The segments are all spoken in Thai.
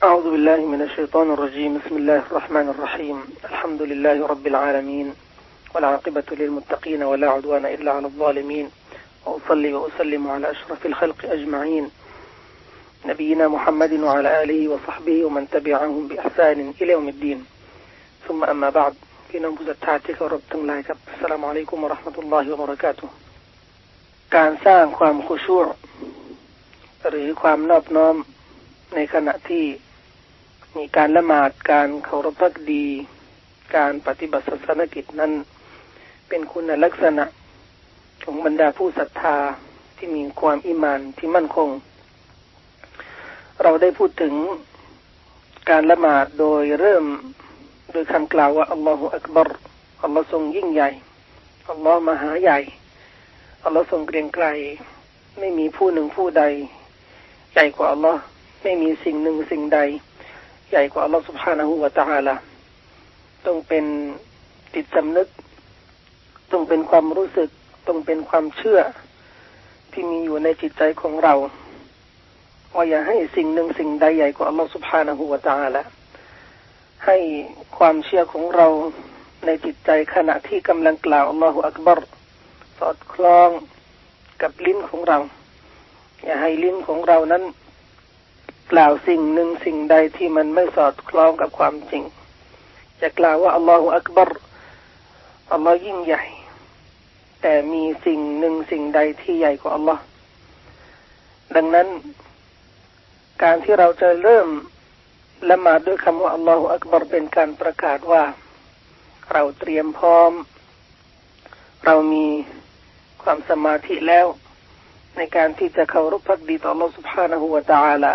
أعوذ بالله من الشيطان الرجيم بسم الله الرحمن الرحيم الحمد لله رب العالمين والعاقبة للمتقين ولا عدوان إلا على الظالمين وأصلي وأسلم على أشرف الخلق أجمعين نبينا محمد وعلى آله وصحبه ومن تبعهم بإحسان إلى يوم الدين ثم أما بعد พี่น้องผู้ศรัทธาที่เคารพทั้งหลายครับอัสสลามุอะลัยกุมวะเราะห์มะตุลลอฮิวะบะเราะกาตุฮ์การสร้างความคุชูอ์หรือความนอบน้อมในขณะที่มีการละหมาดการเคารพภักดีการปฏิบัติศาสนกิจนั้นเป็นคุณลักษณะของบรรดาผู้ศรัทธาที่มีความอีหม่านที่มั่นคงเราได้พูดถึงการละหมาดโดยเริ่มโดยคำกล่าวว่าอัลลอฮฺอักบัรอัลลอฮฺทรงยิ่งใหญ่อัลลอฮฺมหาใหญ่อัลลอฮฺทรงเกรียงไกรไม่มีผู้หนึ่งผู้ใดใหญ่กว่าอัลลอฮฺไม่มีสิ่งหนึ่งสิ่งใดใหญ่กว่าอัลลอฮฺ سبحانه และ تعالى ต้องเป็นจิตสำนึกต้องเป็นความรู้สึกต้องเป็นความเชื่อที่มีอยู่ในจิตใจของเราว่าอย่าให้สิ่งหนึ่งสิ่งใดใหญ่กว่าอัลลอฮฺ سبحانه และ تعالى ให้ความเชื่อของเราในจิตใจขณะที่กำลังกล่าวอัลลอฮฺอักบัรสอดคล้องกับลิ้นของเราอย่าให้ลิ้นของเรานั้นกล่าวสิ่งหนึ่งสิ่งใดที่มันไม่สอดคล้องกับความจริงจะกล่าวว่าอัลลอฮฺอักบัรอัลลอฮฺยิ่งใหญ่แต่มีสิ่งหนึ่งสิ่งใดที่ใหญ่กว่าอัลลอฮฺดังนั้นการที่เราจะเริ่มละหมาดด้วยคำว่าอัลลอฮฺอักบัรเป็นการประกาศว่าเราเตรียมพร้อมเรามีความสมาธิแล้วในการที่จะเคารพภักดีต่ออัลลอฮฺ سبحانه และ تعالى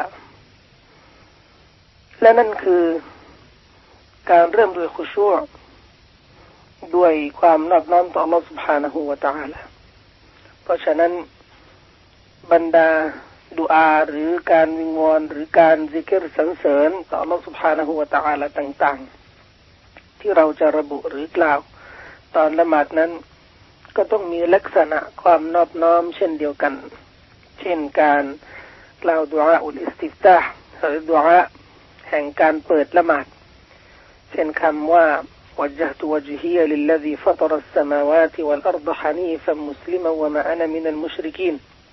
และนั่นคือการเริ่มด้วยคุชูอ์ด้วยความนอบน้อมต่ออัลลอฮฺ سبحانه และ تعالى เพราะฉะนั้นบรรดาดุอาหรือการวิงวอนหรือการซิกร์สรรเสริญต่ออัลลอฮฺ سبحانه และ تعالى ต่างๆที่เราจะระบุหรือกล่าวตอนละหมาดนั้นก็ต้องมีลักษณะความนอบน้อมเช่นเดียวกันเช่นการกล่าวดุอาอุลอิสติฟตาห์หรือดุอาแห่งการเปิดละหมาดเช่นคำว่า وجهت وجهي للذي فطر السماوات والأرض حنيفا مسلما وما أنا من المشركين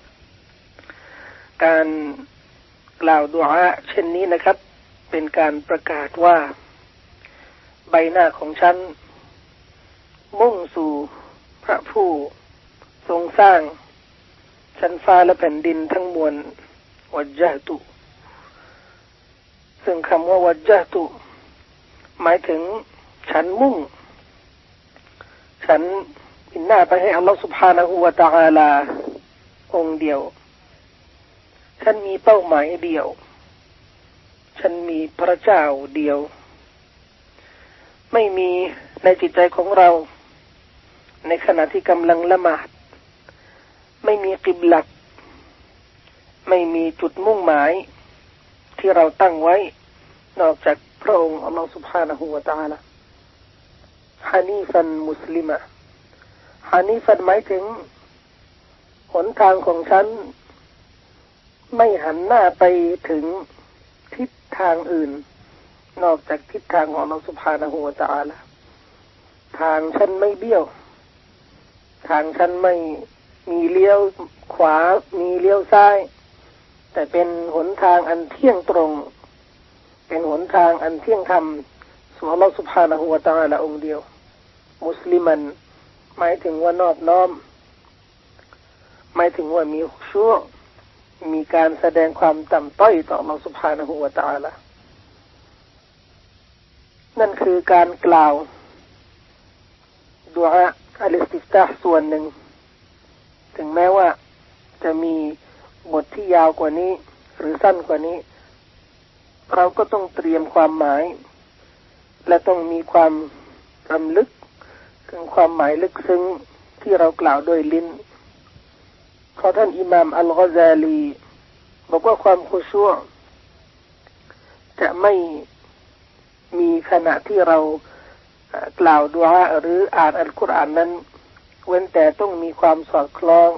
การกล่าวดุอาเช่นนี้นะครับเป็นการประกาศว่าใบหน้าของฉันมุ่งสู่พระผู้ทรงสร้างชั้นฟ้าและแผ่นดินทั้งมวลวัจญะตุซึ่งคำว่าวัจญะตุหมายถึงฉันมุ่งฉันหันหน้าไปให้อัลลอฮฺ سبحانه และ تعالى องค์เดียวฉันมีเป้าหมายเดียวฉันมีพระเจ้าเดียวไม่มีในจิตใจของเราในขณะที่กำลังละหมาดไม่มีกิบลัตไม่มีจุดมุ่งหมายที่เราตั้งไว้นอกจากพระองค์อัลลอฮฺ سبحانه และ تعالى ฮานีฟันมุสลิมะฮานีฟันหมายถึงหนทางของฉันไม่หันหน้าไปถึงทิศทางอื่นนอกจากทิศทางของอัลลอฮฺ سبحانه และ تعالى ทางฉันไม่เบี้ยวทางฉันไม่มีเลี้ยวขวามีเลี้ยวซ้ายแต่เป็นหนทางอันเที่ยงตรงเป็นหนทางอันเที่ยงธรรมสู่อัลลอฮฺ سبحانه และ تعالى องค์เดียวมุสลิมันหมายถึงว่านอบน้อมหมายถึงว่ามีคุชูอ์มีการแสดงความต่ำต้อยต่ออัลลอฮฺ سبحانه และ تعالى นั่นคือการกล่าวดุอาอัลอิสติฟตาห์ส่วนหนึ่งถึงแม้ว่าจะมีบทที่ยาวกว่านี้หรือสั้นกว่านี้เราก็ต้องเตรียมความหมายและต้องมีความรำลึกถึงความหมายลึกซึ้งที่เรากล่าวโดยลิ้นเพราะท่านอิหม่ามอัลกอซาลีบอกว่าความคุชูอ์จะไม่มีขณะที่เรากล่าวดุอาหรืออ่านอัลกุรอานนั้นเว้นแต่ต้องมีความสอดคล้อง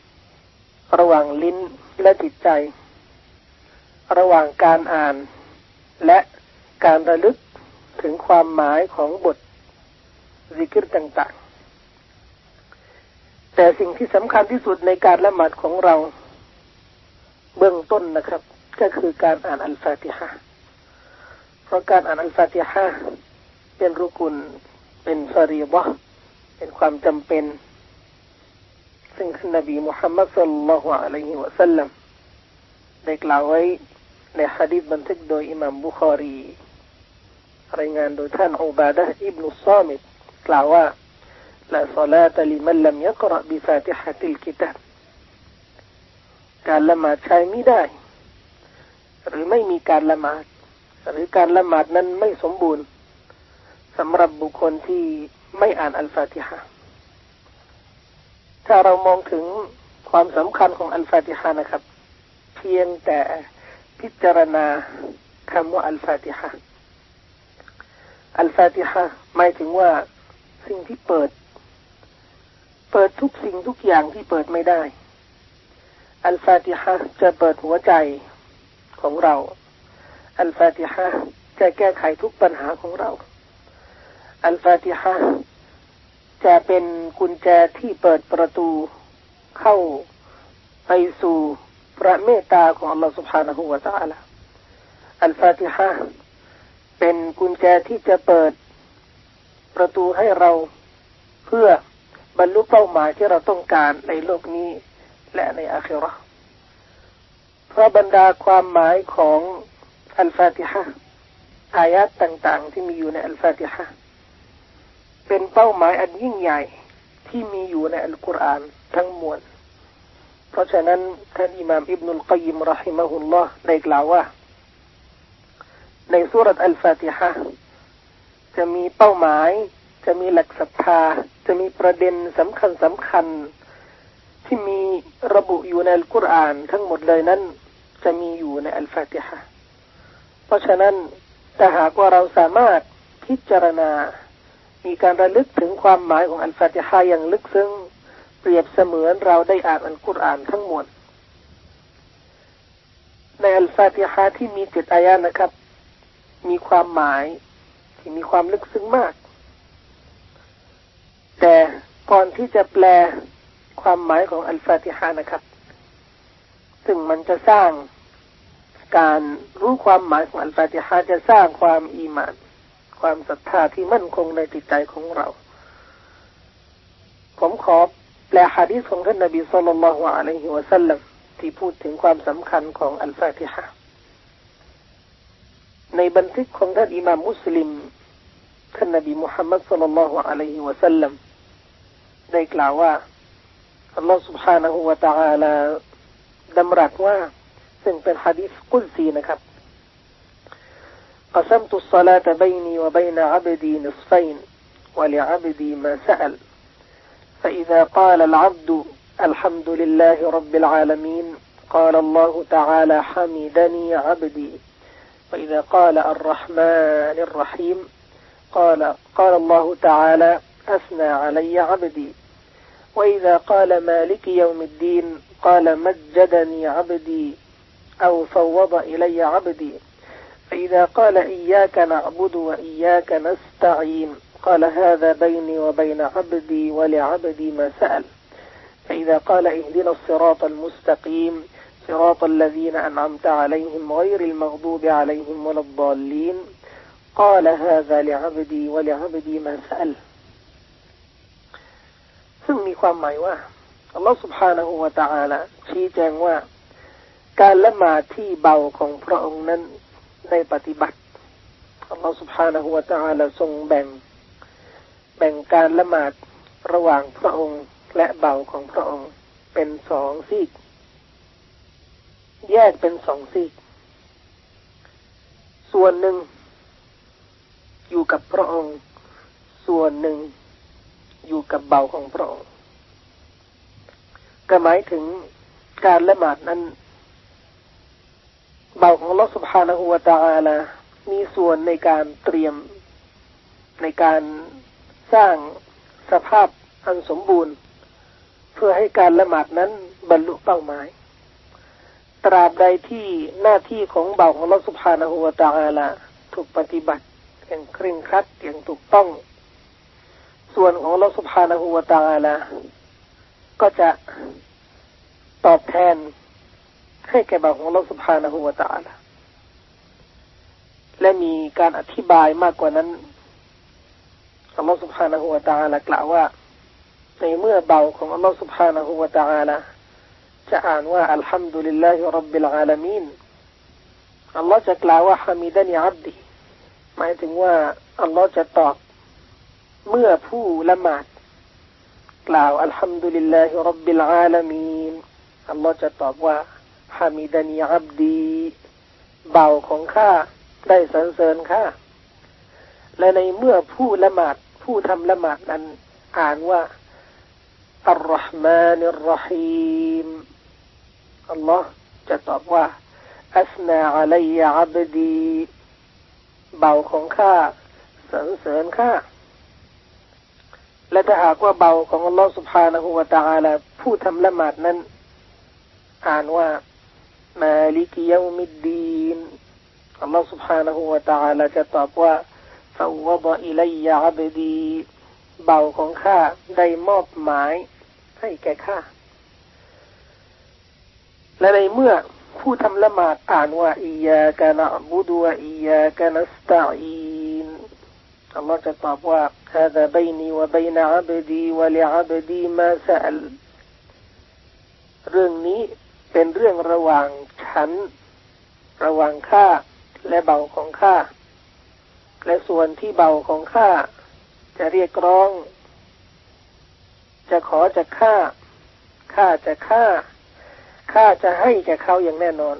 ระหว่างลิ้นและจิตใจ ระหว่างการอ่านและการระลึกถึงความหมายของบทซิกรต่างๆแต่สิ่งที่สำคัญที่สุดในการละหมาดของเราเบื้องต้นนะครับก็คือการอ่านอัลฟาติฮะห์เพราะการอ่านอัลฟาติฮะห์เป็นรุกุนเป็นฟารีฎะห์เป็นความจำเป็นซึ่งท่านนบีมุฮัมมัดศ็อลลัลลอฮุอะลัยฮิวะซัลลัมได้กล่าวไว้ในหะดีษบันทึกโดยอิหม่ามบุคอรีรายงานโดยท่านอุบาดะห์อิบนุศอมิตกล่าวว่าลาศอลาตะลิมันลัมยะกเราะบิฟาติฮะติลกิตาบการละหมาดใช้ไม่ได้หรือไม่มีการละหมาดหรือการละหมาดนั้นไม่สมบูรณ์สำหรับบุคคลที่ไม่อ่านอัลฟาติฮะห์ถ้าเรามองถึงความสำคัญของอัลฟาติฮะห์นะครับเพียงแต่พิจารณาคำว่าอัลฟาติฮะห์อัลฟาติฮะห์หมายถึงว่าสิ่งที่เปิดทุกสิ่งทุกอย่างที่เปิดไม่ได้อัลฟาติฮะห์จะเปิดหัวใจของเราอัลฟาติฮะห์จะแก้ไขทุกปัญหาของเราอัลฟาติฮะห์จะเป็นกุญแจที่เปิดประตูเข้าไปสู่พระเมตตาของอัลลอฮฺ سبحانه และ تعالى อัลฟาติฮะห์เป็นกุญแจที่จะเปิดประตูให้เราเพื่อบรรลุเป้าหมายที่เราต้องการในโลกนี้และในอาคิเราะห์เพราะบรรดาความหมายของอัลฟาติฮะห์อายะห์ต่างๆที่มีอยู่ในอัลฟาติฮะห์เป็นเป้าหมายอันยิ่งใหญ่ที่มีอยู่ในอัลกุรอานทั้งมวลเพราะฉะนั้นท่านอิหม่ามอิบนุลกัยยิมเราะฮิมะฮุลลอฮ์ได้กล่าวว่าในซูเราะห์อัลฟาติฮะห์จะมีเป้าหมายจะมีหลักศรัทธาจะมีประเด็นสำคัญที่มีระบุอยู่ในอัลกุรอานทั้งหมดเลยนั้นจะมีอยู่ในอัลฟาติฮะห์เพราะฉะนั้นถ้าหากว่าเราสามารถพิจารณามีการระลึกถึงความหมายของอัลฟาติฮะห์อย่างลึกซึ้งเปรียบเสมือนเราได้อ่านอัลกุรอานทั้งหมดในอัลฟาติฮะห์ที่มี7อายะห์นะครับมีความหมายที่มีความลึกซึ้งมากแต่ก่อนที่จะแปลความหมายของอัลฟาติฮะห์นะครับซึ่งมันจะสร้างการรู้ความหมายของอัลฟาติฮะห์จะสร้างความอีหม่านความศรัทธาที่มั่นคงในจิตใจของเราผมขอแปลหะดีษของท่านนบีศ็อลลัลลอฮุอะลัยฮิวะซัลลัมที่พูดถึงความสำคัญของอัลฟาติฮะห์ในบันทึกของท่านอิหม่ามมุสลิมท่านนบีมุฮัมมัดศ็อลลัลลอฮุอะลัยฮิวะซัลลัมได้กล่าวว่าอัลลอฮฺ سبحانه และ تعالى ดำรัสว่าซึ่งเป็นหะดีษกุดซีนะครับقسمت الصلاة بيني وبين عبدي نصفين ولعبدي ما سأل فإذا قال العبد الحمد لله رب العالمين قال الله تعالى حمدني عبدي وإذا قال الرحمن الرحيم قال الله تعالى أثنى علي عبدي وإذا قال مالك يوم الدين قال مجدني عبدي أو فوض إلي عبدي فإذا قال إياك نعبد وإياك نستعين قال هذا بيني وبين عبدي ولعبدي ما سأل فإذا قال اهدنا الصراط المستقيم صراط الذين أنعمت عليهم غير المغضوب عليهم ولا الضالين قال هذا لعبدي ولعبدي ما سأل ซึ่งมีความหมายว่าอัลลอฮฺ سبحانه และ تعالى ชี้แจงว่าการละหมาดที่เบาของพระองค์นั้นในปฏิบัติอัลลอฮฺ سبحانه และ تعالى ทรงแบ่งการละหมาดระหว่างพระองค์และเบาของพระองค์เป็น2ซีกแยกเป็น2ซีกส่วนหนึ่งอยู่กับพระองค์ส่วนหนึ่งอยู่กับเบาของพระองค์ก็หมายถึงการละหมาดนั้นเบาของอัลเลาะห์ سبحانه และ تعالى มีส่วนในการเตรียมในการสร้างสภาพอันสมบูรณ์เพื่อให้การละหมาดนั้นบรรลุเป้าหมายตราบใดที่หน้าที่ของบ่าวของอัลเลาะห์ซุบฮานะฮูวะตะอาลาถูกปฏิบัติอย่างเคร่งครัดอย่างถูกต้องส่วนของอัลเลาะห์ซุบฮานะฮูวะตะอาลาก็จะตอบแทนให้แก่บ่าวของอัลเลาะห์ซุบฮานะฮูวะตะอาลาและมีการอธิบายมากกว่านั้นอัลเลาะห์ซุบฮานะฮูวะตะอาลากล่าวว่าในเมื่อบ่าวของอัลเลาะห์ซุบฮานะฮูวะตะอาลาจะอ่านว่าอัลฮัมดุลิลลาฮิร็อบบิลอาลามีนอัลเลาะห์จะกล่าวว่าฮะมิดะนีอับดีหมายถึงว่าอัลเลาะห์จะตอบเมื่อผู้ละหมาดกล่าวอัลฮัมดุลิลลาฮิร็อบบิลอาลามีนอัลเลาะห์จะตอบว่าฮะมิดะนีอับดีบ่าวของข้าได้สรรเสริญข้าและในเมื่อผู้ละหมาดผู้ทำละหมาดนั้นอ่านว่าอัลเราะห์มานิรเราะฮีมอัลลอฮ์จะตอบว่าอัสนาอะลัยอับดีบ่าวของข้าสรรเสริญข้าและถ้าหากว่าบ่าวของอัลลอฮ์ سبحانه และ تعالى ผู้ทำละหมาดนั้นอ่านว่ามาลิกยอมิดดีนอัลลอฮ์ سبحانه และ تعالى จะตอบว่าฟาวฎอิลัยอับดีบ่าวของข้าได้มอบหมายให้แก่ข้าและในเมื่อผู้ทำละหมาดอ่านว่าอิยากะนะอ์บุดุวะอิยากะนัสตะอีนอัลลอฮ์จะตอบว่าฮาซาบัยนีวะบัยนะอับดีวะลิอับดีมาซะอัลเรื่องนี้เป็นเรื่องระหว่างฉันระหว่างข้าและเบาของข้าและส่วนที่เบาของข้าจะเรียกร้องจะขอจากข้าจะข้าจะให้แก่เขาอย่างแน่นอน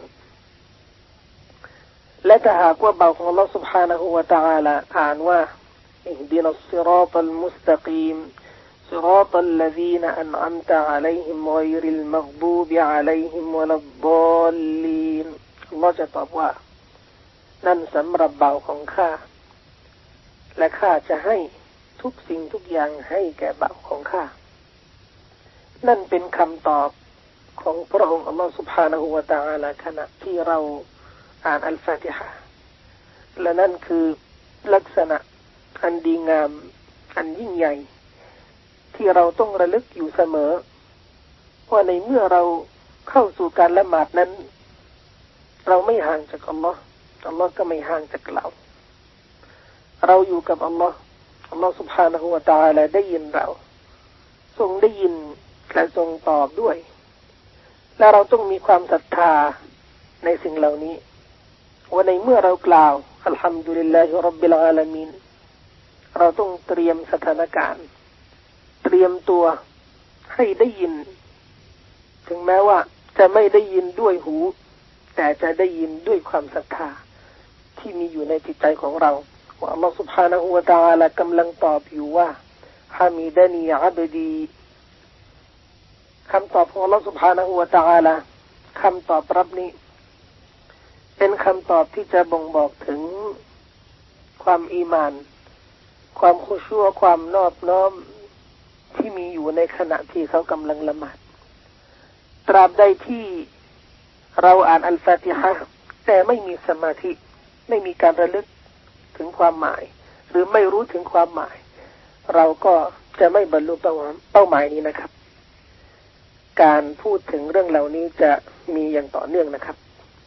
และถ้าหากว่าเบาของอัลเลาะห์ سبحانه และ تعالى อ่านว่าอิฮดินัสศิรอตัลมุสตะกีมศิรอตัลลซีนอันอัมตะอะลัยฮิมฆอยริลมัฆดูบิอะลัยฮิมวะลัดฎอลลีนอัลเลาะห์จะตอบว่านั่นสำหรับเบาของข้าและข้าจะให้ทุกสิ่งทุกอย่างให้แก่เบาของข้านั่นเป็นคำตอบของพระองค์อัลลอฮฺ سبحانه และ تعالى ขณะที่เราอ่านอัลฟาติฮะห์และนั่นคือลักษณะอันดีงามอันยิ่งใหญ่ที่เราต้องระลึกอยู่เสมอว่าในเมื่อเราเข้าสู่การละหมาดนั้นเราไม่ห่างจากอัลลอฮ์อัลลอฮ์ก็ไม่ห่างจากเราอยู่กับอัลลอฮ์อัลลอฮ์ سبحانه และ تعالى ได้ยินเราทรงได้ยินและทรงตอบด้วยและเราต้องมีความศรัทธาในสิ่งเหล่านี้ว่าในเมื่อเรากล่าวอัลฮัมดุลิลลาฮิร็อบบิลอาลามีนเราต้องเตรียมสถานการณ์เตรียมตัวให้ได้ยินถึงแม้ว่าจะไม่ได้ยินด้วยหูแต่จะได้ยินด้วยความศรัทธาที่มีอยู่ในจิตใจของเราว่าอัลลอฮฺ سبحانه และ تعالى กำลังตอบอยู่ว่าฮามิดะนีอับดีคำตอบของอัลลอฮฺ سبحانه และ تعالى คำตอบรับนี้เป็นคำตอบที่จะบ่งบอกถึงความอีหม่านความคุชูอ์ความนอบน้อมที่มีอยู่ในขณะที่เขากำลังละหมาดตราบใดที่เราอ่านอัลฟาติฮะห์แต่ไม่มีสมาธิไม่มีการระลึกถึงความหมายหรือไม่รู้ถึงความหมายเราก็จะไม่บรรลุเป้าหมายนี้นะครับการพูดถึงเรื่องเหล่านี้จะมีอย่างต่อเนื่องนะครับ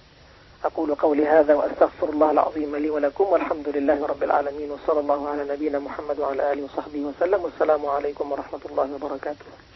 أقول قولي هذا وأستغفر الله العظيم لي ولكم والحمد لله رب العالمين وصلى الله على نبينا محمد وعلى آله وصحبه وسلم والسلام عليكم ورحمة الله وبركاته